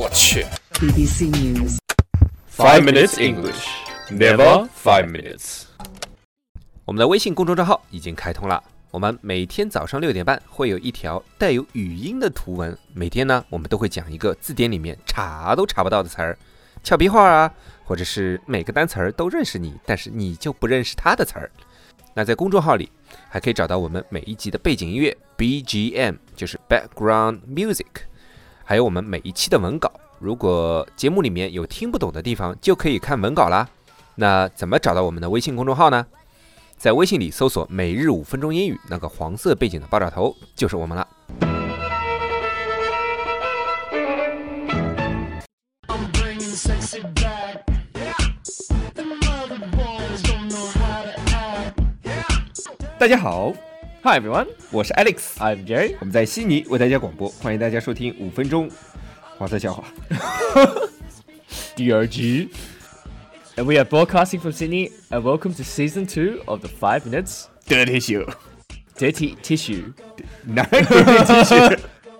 我去 BBC News. ，5 minutes English, never 5 minutes。 我们的微信公众账号已经开通了，我们每天早上6点半会有一条带有语音的图文，每天呢我们都会讲一个字典里面查都查不到的词儿，俏皮话啊，或者是每个单词儿都认识你，但是你就不认识它的词儿。那在公众号里还可以找到我们每一集的背景音乐 BGM， 就是 Background Music， 还有我们每一期的文稿。如果节目里面有听不懂的地方，就可以看文稿啦。那怎么找到我们的微信公众号呢？在微信里搜索每日5分钟英语，那个黄色背景的爆炸头就是我们了。大家好 Hi everyone, 我是 Alex， I'm Jerry. 我们在悉尼为大家广播，欢迎大家收听5分钟黄色笑话。 DRG. And we are broadcasting from Sydney, and welcome to Season 2 of the 5 Minutes Dirty Show， Dirty Tissue. 哪有 Dirty Tissue？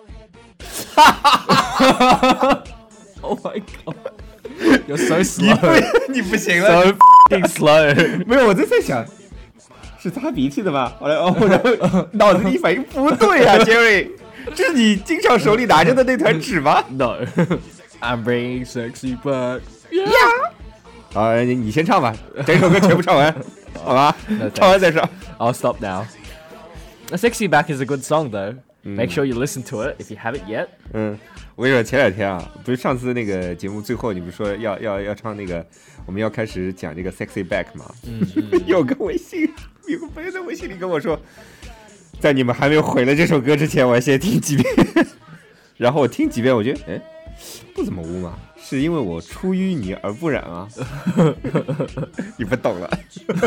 Oh my god. You're so slow. 你不行了 So f***ing slow. 没有，我在想是擦鼻涕的吧？后来然后脑子里反应不对啊，Jerry， 这是你经常手里拿着的那团纸吗？ No. I'm bringing sexy back. Yeah。好，你先唱吧，整首歌全部唱完，好吧？ No, 唱完再说。 I'll stop now. A Sexy Back is a good song though. Make sure you listen to it if you haven't yet. 我跟你说，前2天啊，不是上次那个节目最后你不是说要唱那个，我们要开始讲这个 Sexy Back 吗？有个朋友在微信里跟我说，在你们还没有毁了这首歌之前，我要先听几遍。然后我听几遍，我觉得不怎么污嘛，是因为我出淤泥而不染啊。你不懂了，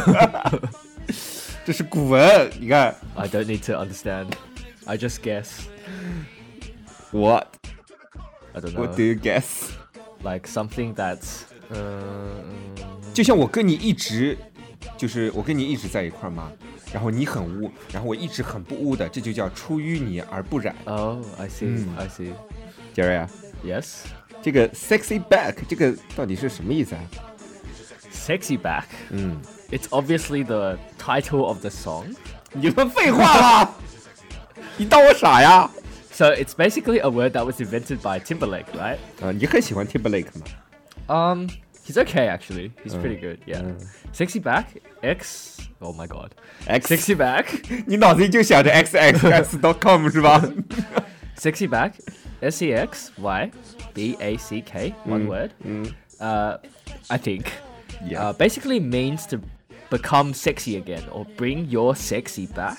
这是古文，你看。 I don't need to understand. I just guess. What? I don't know. What do you guess? Like something that's 就像我跟你一直在一块嘛，然后你很污，然后我一直很不污的，这就叫出淤泥而不染。 Oh, I see. I see. Jerry 啊， Yes. 这个 sexy back 这个到底是什么意思啊？ Sexy Back. It's obviously the title of the song. 你说废话吧？你当我傻呀？ So it's basically a word that was invented by Timberlake, right? 你很喜欢 Timberlake 吗？ He's okay actually. He's pretty good. Yeah. Sexy Back. X. Oh my god. X Sexy Back. 你脑子里就想着 xxx.com 是吧？ Sexy Back. SEXY BACK. One word. I think. Yeah. Basically means to become sexy again or bring your sexy back.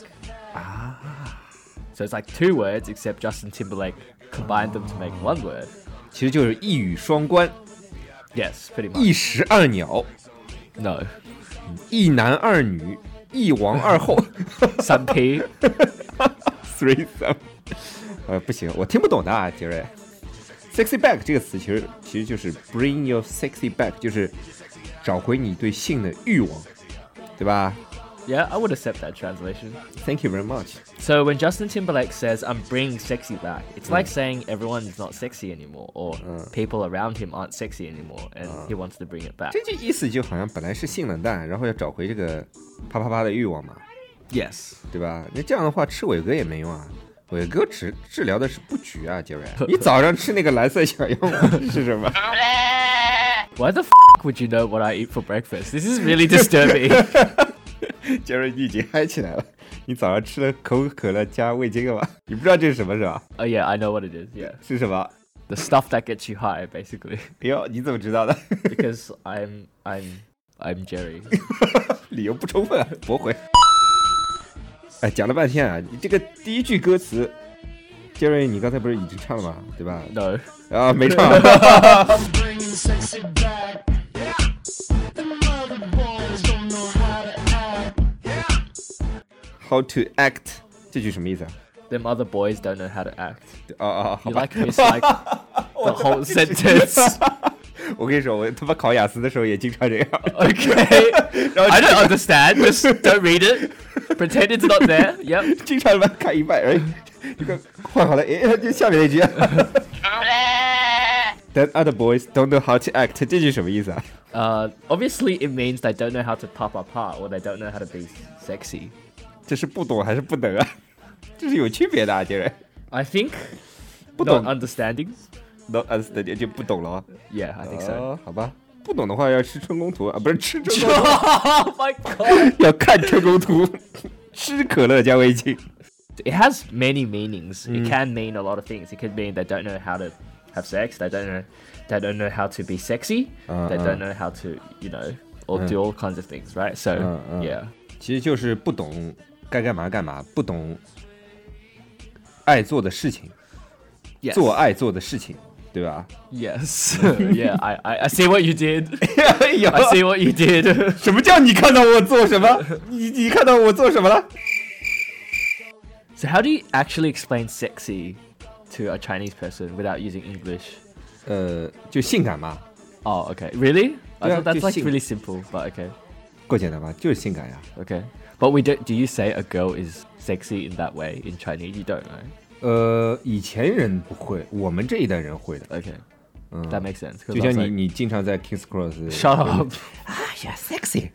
So it's like 2 words except Justin Timberlake combined them to make 1 word. 其实就是一语双关， Yes, pretty much. 一石二鸟， No. 一男二女，一王二后。 Some P. threesome， 不行，我听不懂的啊，杰瑞。sexy back 这个词其实就是 bring your sexy back， 就是找回你对性的欲望，对吧 Yeah, I would accept that translation. ？Thank you very much。 So when Justin Timberlake says, I'm bringing sexy back, it's like saying everyone is not sexy anymore or people around him aren't sexy anymore and he wants to bring it back. 这句意思就好像本来是性冷淡，然后要找回这个啪啪啪的欲望嘛， Yes. 对吧？那这样的话吃伟哥也没用啊。伟哥治疗的是不举啊，杰瑞。你早上吃那个蓝色小药丸是什么？ Why the f*** would you know what I eat for breakfast? This is really disturbing. 杰瑞，你已经嗨起来了。你早上吃了可口可乐加味精了吧？你不知道这是什么是吧？ Oh yeah, I know what it is. Yeah. 是什么？ The stuff that gets you high, basically. 哎呦，你怎么知道的？ Because I'm Jerry. 理由不充分啊，驳回。哎，讲了半天啊，你这个第一句歌词，杰瑞，你刚才不是已经唱了吗？对吧？ No. 啊，没唱。How to act 这句什么意思啊？ Them other boys don't know how to act. 好 You 吧。 like miss like the whole sentence. 我跟你说，我他妈考雅思的时候也经常这样。 Okay. I don't understand. Just don't read it. Pretend it's not there. Yep. 经常他妈看一半，哎，这个换好了，哎，就下面那句。 That other boys don't know how to act， 这句什么意思啊？ Obviously it means they don't know how to pop apart or they don't know how to be sexy. 这是不懂还是不能啊？这是有区别的啊，杰瑞。 I think 不懂 not understanding. ，not understand 就不懂了啊。 Yeah, I think so. 好吧，不懂的话要吃春宫图啊，不是吃春宫图， Oh my god. 要看春宫图，吃可乐加味精。 It has many meanings. It can mean a lot of things. It could mean they don't know how to have sex. They don't know how to be sexy. They don't know how to, or do all kinds of things, right? So, yeah. 其实就是不懂该干嘛干嘛，不懂爱做的事情， Yes. 做爱做的事情，对吧？ Yes. Yeah, I see what you did. 哎呦 I see what you did. 什么叫你看到我做什么？你看到我做什么了？ So how do you actually explain sexy to a Chinese person without using English? 就性感嘛， Oh, okay. Really? I Yeah, thought that's like just really simple, but okay. 够简单吧？就是性感呀。 Okay. But do you say a girl is sexy in that way in Chinese? You don't, right? 以前人不会，我们这一代人会的。 Okay. That makes sense. 'Cause 就 I 像 was 你 like, 你经常在 Kings Cross Shut up. 啊呀 sexy，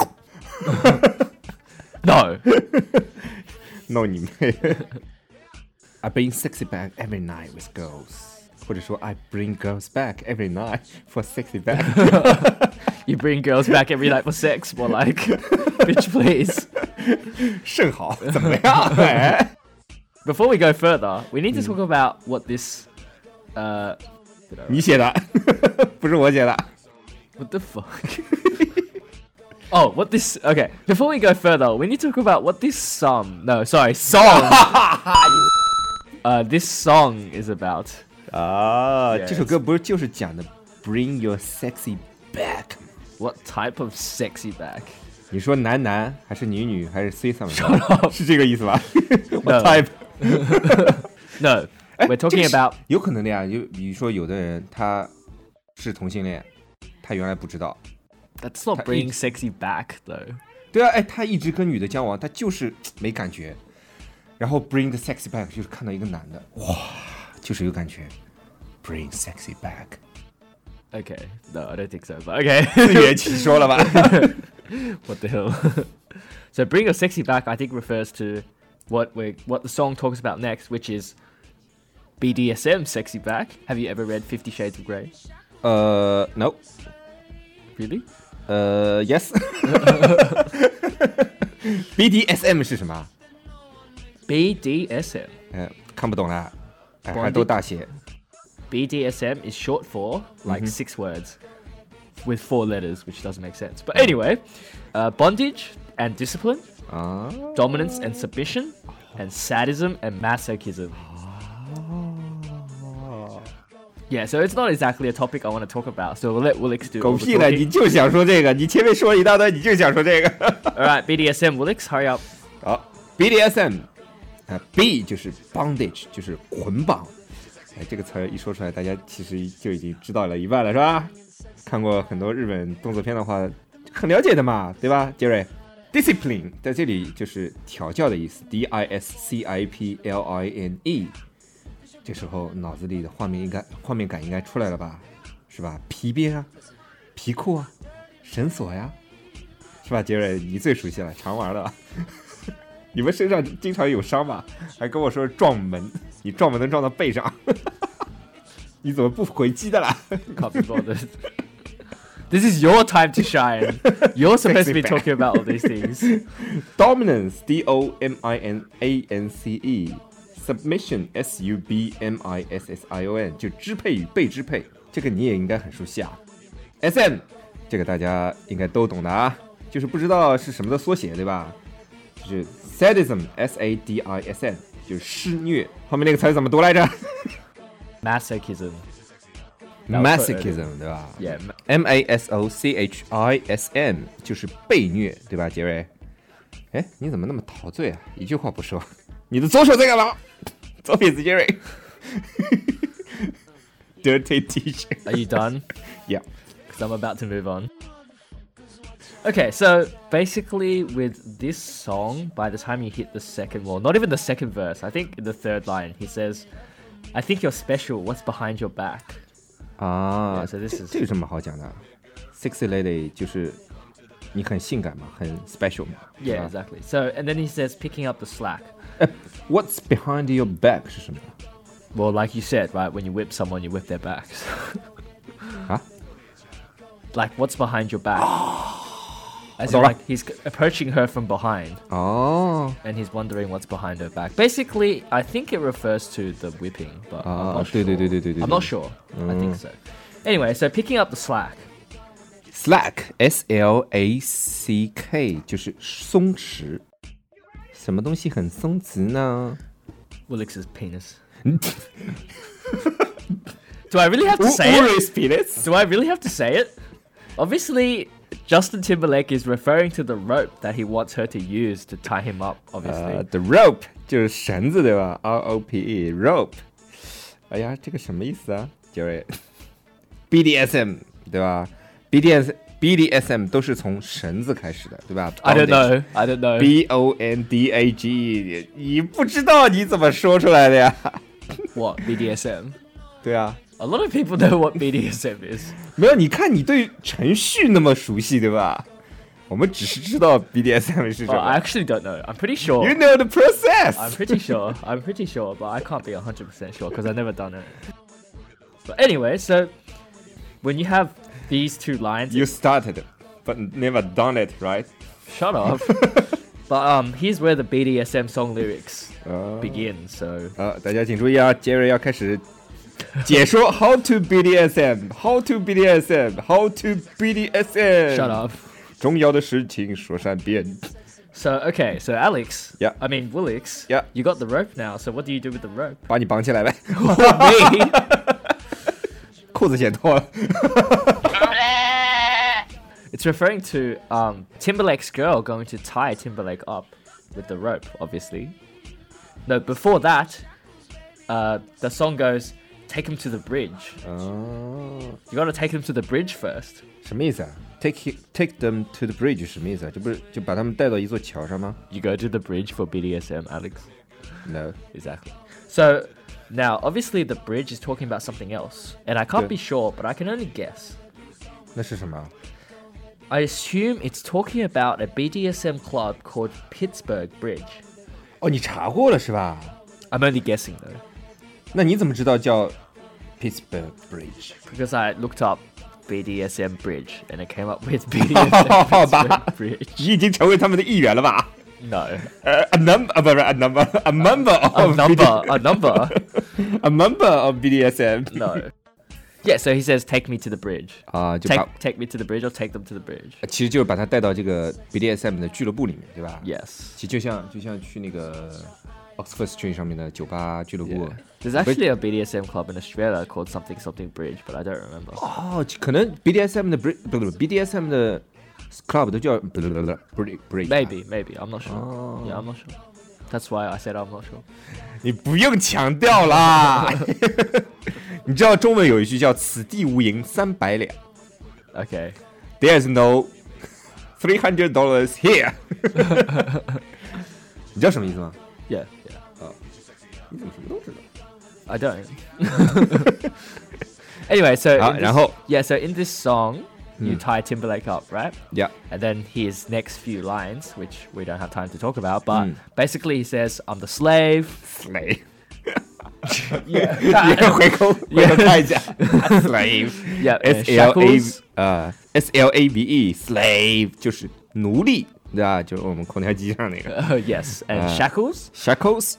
No. no 你妹！I bring sexy back every night with girls， 或者说 I bring girls back every night for sexy back。 You bring girls back every night for sex, more like, bitch, please. 甚好，怎么样？哎 Before we go further, we need to talk about what this, 你写的，不是我写的。 what the fuck? Oh, what this? Okay, before we go further, we need to talk about what this song. No, sorry, song. This song is about. 啊， Yes. 这首歌不是就是讲的 Bring your sexy back？ What type of sexy back? 你说男男还是女女还是 C 什么？是这个意思吧 ？What No. type？ No, 哎 we're 这 talking 个是 about. 有可能的呀，就比如说有的人他是同性恋，他原来不知道。 That's not bringing sexy back, though. 对啊，哎，他一直跟女的交往，他就是没感觉。然后 bring the sexy back 就是看到一个男的，哇，就是有感觉。Bring sexy back， Okay, no, I don't think so. But okay. 自圆其说了吧？ What the hell? So bring your sexy back, I think, refers to what the song talks about next, which is BDSM sexy back. Have you ever read 50 Shades of Grey? No， Really? Yes 。BDSM 是什么？ BDSM. 看不懂啦，哎，还都大写。 BDSM is short for like 6 words with 4 letters, which doesn't make sense. But anyway, bondage and discipline, 啊， dominance and submission, and sadism and masochism. Yeah, so it's not exactly a topic I want to talk about. So we'll let Willix do 狗 all the 屁了，你 talking. 就想说这个，你前面说了一大堆，你就想说这个。 All right, BDSM, Willix, hurry up. 好 ，BDSM， B 就是 bondage， 就是捆绑。哎，这个词儿一说出来，大家其实就已经知道了一半了，是吧？看过很多日本动作片的话，很了解的嘛，对吧，杰瑞 ？Discipline 在这里就是调教的意思，DISCIPLINE。这时候脑子里的画面感应该出来了吧？是吧？皮鞭啊，皮裤啊，绳索呀，是吧？杰瑞，你最熟悉了，常玩了。你们身上经常有伤吧？还跟我说撞门，你撞门能撞到背上，你怎么不回击的啦？ Can't be bothered. This is your time to shine. You're supposed to be talking about all these things. Dominance, DOMINANCE, submission, SUBMISSION， 就支配与被支配，这个你也应该很熟悉啊。SM， 这个大家应该都懂的啊，就是不知道是什么的缩写，对吧？就是 sadism, SADISM， 就是施虐。后面那个词怎么读来着？ Masochism. Masochism 对吧 Yeah. MASOCHISM 就是被虐对吧，杰瑞？哎，你怎么那么陶醉啊？一句话不说，你的左手在干嘛？左撇子杰瑞。Dirty teacher. Are you done? Yeah. Because I'm about to move on. Okay, so basically with this song, by the time you hit the second, well, not even the second verse, I think in the third line, he says, I think you're special, what's behind your back? 啊 Yeah, so this is 这有什么好讲的 ？Sexy lady 就是你很性感嘛，很 special 嘛。 yeah, 是吧 exactly. So and then he says picking up the slack. What's behind your back 是什么？ Well, like you said, right? When you whip someone, you whip their backs. 啊 Like what's behind your back? As in, Zora. like he's approaching her from behind, 哦 and he's wondering what's behind her back. Basically, I think it refers to the whipping, but I'm not 对 sure. 对对对对对 I'm not sure. I think so. Anyway, so picking up the slack. Slack S-L-A-C-K 就是松弛，什么东西很松弛呢？ Willix's penis. Do I really have to say it? penis。 Do I really have to say it? Obviously, Justin Timberlake is referring to the rope that he wants her to use to tie him up, obviously. The rope 就是绳子对吧 ？R-O-P-E rope。哎呀，这个什么意思啊？杰瑞，BDSM 对吧？BDSM 都是从绳子开始的，对吧 I don't know. I don't know. Bondage 你不知道你怎么说出来的呀？ What? BDSM? 对啊， A lot of people know what BDSM is. 没有，你看你对程序那么熟悉，对吧？我们只是知道 BDSM 是什 Oh, I 么。 actually don't know. I'm pretty sure. You know the I'm process. pretty sure. I'm pretty sure, but I can't be 100% sure because I've never done it. But anyway, so when you have these two lines, You started, but never done it, right? shut up. But here's where the BDSM song lyrics begin. So 大家请注意啊，杰瑞要开始解说 how to BDSM，how to BDSM，how to BDSM。 shut up. 重要的事情说三遍。 So okay, so Alex. Yeah. I mean Willix. Yeah. You got the rope now. So what do you do with the rope? 把你绑起来呗， Me. 裤子先脱了。 It's referring to Timberlake's girl going to tie Timberlake up with the rope, obviously. No, before that, the song goes, take him to the bridge. 哦， You gotta take him to the bridge first. 什么意思啊？Take them to the bridge 什么意思啊？这不是就把他们带到一座桥上吗 You go to the bridge for BDSM, Alex. ？No， Exactly. So, now, obviously the bridge is talking about something else. And I can't Yeah. be sure, but I can only guess. 那是什么？ I assume it's talking about a BDSM club called Pittsburgh Bridge. 哦，你查过了是吧？ I'm only guessing though. 那你怎么知道叫 Pittsburgh Bridge？ Because I looked up BDSM Bridge and it came up with BDSM 好吧 Pittsburgh Bridge. 你已经成为他们的一员了吧 No. ？A number，不是 a number，a member of A number. a member of BDSM。 No. Yeah, so he says, take me to the bridge. 啊，就 Take 把 take me to the bridge or take them to the bridge. 其实就是把他带到这个 BDSM 的俱乐部里面，对吧？ Yes. 其实就像去那个 Oxford Street 上面的酒吧俱乐部 Yeah.。There's actually a BDSM club in Australia called something something bridge, but I don't remember. 哦，可能 BDSM 的 BDSM 的 club 都叫 bridge。 Maybe. I'm not sure. Oh. Yeah, I'm not sure. That's why I said I'm not sure. 你不用强调啦。你知道中文有一句叫"此地无银300两 Okay. "，There's no $300 here 。你知道什么意思吗？ Yeah. 你怎么什么都知道？ I don't. Anyway, so 好， in this- 然后 yeah, so in this song, you tie Timberlake up, right? Yeah. And then his next few lines, which we don't have time to talk about, but Mm. basically he says, "I'm the slave." slave。 Yeah. 你回头看一下 slave。 Yeah. S-L-A shackles. S-L-A-V-E slave 就是奴隶，对吧？就是我们空调机上那个 Yes. And shackles. shackles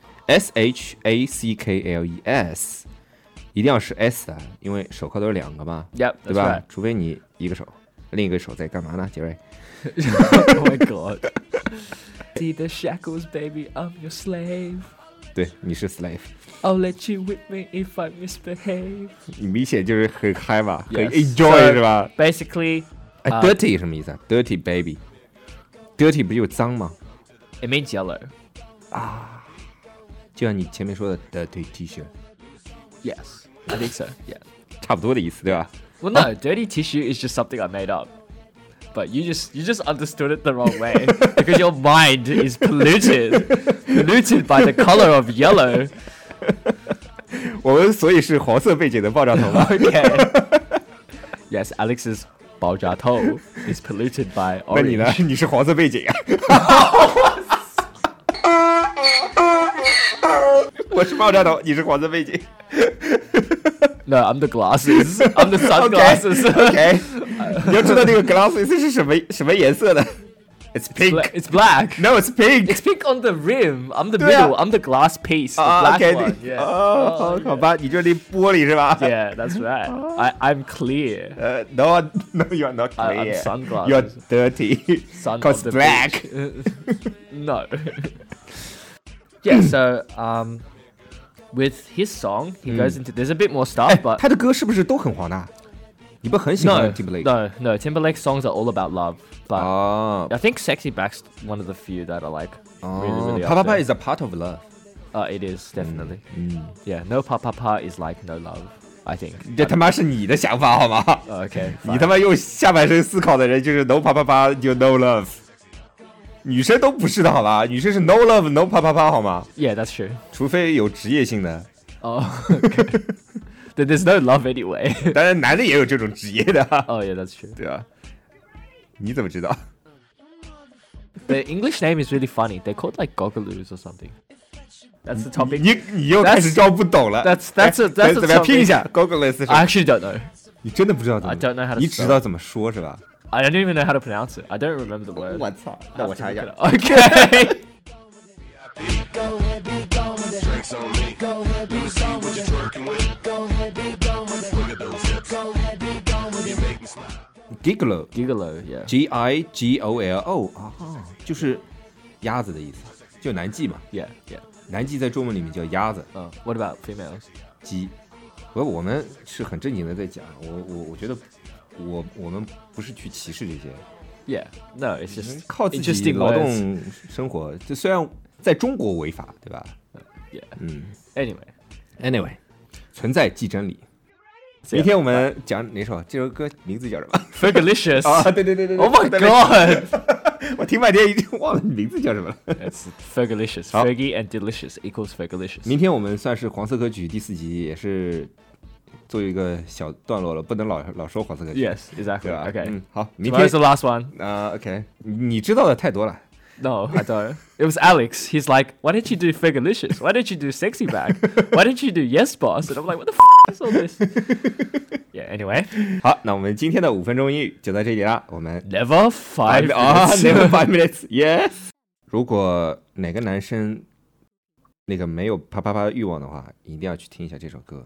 S-H-A-C-K-L-E-S 一定要是 S 的，因为手铐都是两个嘛， Yep. 对 That's 吧 right.？ 除非你一个手，另一个手在干嘛呢？杰瑞 Oh my god. See the shackles, baby. I'm your slave. 对，你是 slave， I'll let you whip me if I misbehave. 你明显就是很嗨嘛，很 Yes. enjoy So, 是吧？ Basically, 哎，dirty 什么意思啊？dirty baby，dirty 不就脏吗？ it means yellow. 就像你前面说的 dirty T-shirt， Yes. I think so. Yeah. 差不多的意思，对吧？ Well, no, dirty tissue is just something I made up. But you just understood it the wrong way because your mind is polluted by the color of yellow. 我们所以是黄色背景的爆炸头吗？ Okay. Yes, Alex's 爆炸头 is polluted by 那你 orange. 呢？你是黄色背景啊？我是爆炸头，你是黄色背景。 No, I'm the glasses. I'm the sunglasses. OK， 你要知道那个 glasses 是什么颜色的 ？It's pink. It's black. No, it's pink. It's pink on the rim. I'm the 对啊 middle. I'm the glass piece. The black OK， one. Yeah. 好吧，你这里玻璃是吧 Yeah, that's right. I'm clear. No, you are not I'm clear. sunglasses. You are dirty. Son Cause of the black. bitch. No. Yeah, so with his song, he goes into there's a bit more stuff, 哎， but 他的歌是不是都很黄的？你不很喜欢 no, Timberlake？ no, Timberlake's songs are all about love. But 哦 I think Sexy Back's one of the few that are like really, 哦 really ，Pa Pa up Pa there. is a part of love。 It is definitely. Yeah, no pa pa pa is like no love. I think. 这他妈是你的想法好吗？ Okay. 你他妈用下半身思考的人就是 no Pa Pa Pa 就 no love。女生都不是的好吧？女生是 no love no Pa Pa Pa 好吗？ Yeah, that's true. 除非有职业性的， Oh, okay. Then there's no love anyway. 当然男的也有这种职业的， Oh, yeah, that's true. 对啊。你怎么知道？ The English name is really funny. They're called like Gogaloos or something. That's the topic. 你又开始装不懂了。 That's a 怎么样 topic. 拼一下 Gogoless 是 I actually don't know. 你真的不知道怎么 I don't know how to 你只知道怎么说是吧？ I don't even know how to pronounce it. I don't remember the word. 我操，那我查一下。 Okay. Go ahead, be gone with it. Drinks on me. Go ahead, be gone with it. Go ahead, be gone with it. Look at those hips. Go ahead, be gone with it. You make me smile. Gigolo Gigolo, yeah. Gigolo 啊，就是鸭子的意思，就南极嘛。 Yeah, yeah. 南极在中文里面叫鸭子、 What about females? 鸡。我们是很正经的在讲，我觉得我们不是去歧视这些， Yeah. No, it's just 靠自己 interesting 劳 words. 动生活。就虽然在中国违法，对吧？ Yeah. Anyway， 存在即真理。 So, 明天我们讲哪首？这首歌名字叫什么？ Fergalicious. 啊，对对对对对 Oh my 对 god. 我听半天已经忘了名字叫什么了。 It's Fergalicious. 好。 Fergie and delicious equals Fergalicious. 明天我们算是黄色歌曲第4集，也是做一个小段落了，不能老说黄色歌曲， Yes, 对 exactly. 吧？ Okay. 好，明 Tomorrow's 天 the last one. OK，你知道的太多了。 No, I don't. It was Alex. He's like, why don't you do Fergalicious? Why don't you do Sexy Back? Why don't you do Yes Boss? And I'm like, what the is all this? Yeah, anyway. 好，那我们今天的5分钟英语就到这里了。我们 Never 5 never minutes. 5 minutes，yes。如果哪个男生那个没有啪啪啪的欲望的话，一定要去听一下这首歌。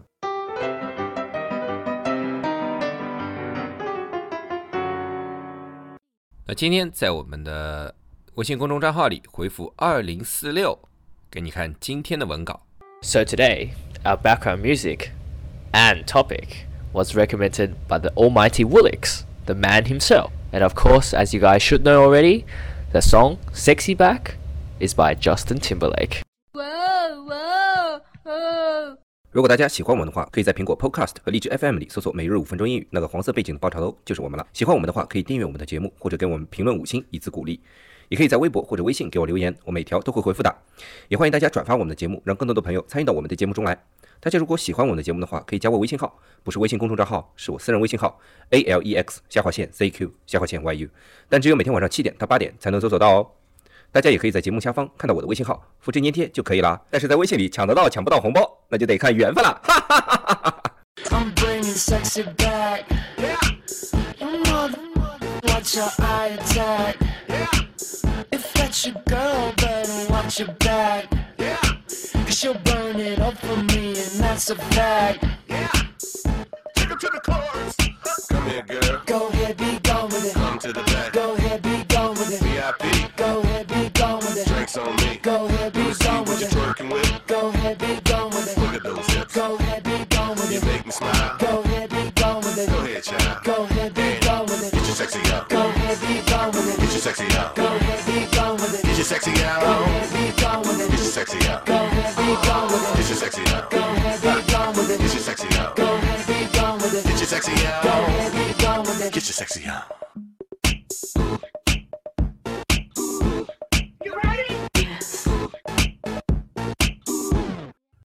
那今天在我们的微信公众账号里回复2046，给你看今天的文稿。 So today, our background music and topic was recommended by the almighty Woolix, the man himself. And of course, as you guys should know already, the song Sexy Back is by Justin Timberlake. Whoa, whoa, whoa. 如果大家喜欢我们的话，可以在苹果 Podcast 和荔枝 FM 里搜索每日5分钟英语，那个黄色背景的爆炒头就是我们了。喜欢我们的话，可以订阅我们的节目，或者给我们评论5星以资鼓励。也可以在微博或者微信给我留言，我每条都会回复的。也欢迎大家转发我们的节目，让更多的朋友参与到我们的节目中来。大家如果喜欢我们的节目的话，可以加我微信号，不是微信公众账号，是我私人微信号 ALEX_ZQ_YU， 但只有每天晚上7点到8点才能搜索到哦。大家也可以在节目下方看到我的微信号，复制粘贴就可以啦。但是在微信里抢得到抢不到红包，那就得看缘分了。哈哈哈哈哈。 I'm bringing sexy back. You mother, watch your eye attack. If that's your girl, better watch your back. Cause she'll burn it up for me, and that's a fact. Take her to the chorus. Come here, girl. Go ahead, be gone with it. Come to the back. Go ahead, be gone with it. VIP. Go ahead, be gone with it. Drinks on me. Go ahead, be Let me see gone what with you're it. twerking with. Go ahead, be gone with it. Look at those hips. Go ahead, be gone with You it. make me smile. Go ahead, be gone with it. Go ahead, child. Go ahead, be gone with it. Get your sexy out. Go ahead, be gone with it. Get your sexy out. Go ahead, be gone with it. Get your sexy out. Go ahead, be gone with it. Get your sexy out. Go ahead, be gone with it. Get your sexy out. Go ahead, be gone with it. Get your sexy out. Go ahead, be gone with it. Get your sexy Go out. ahead, be gone with it. Get your sexy out.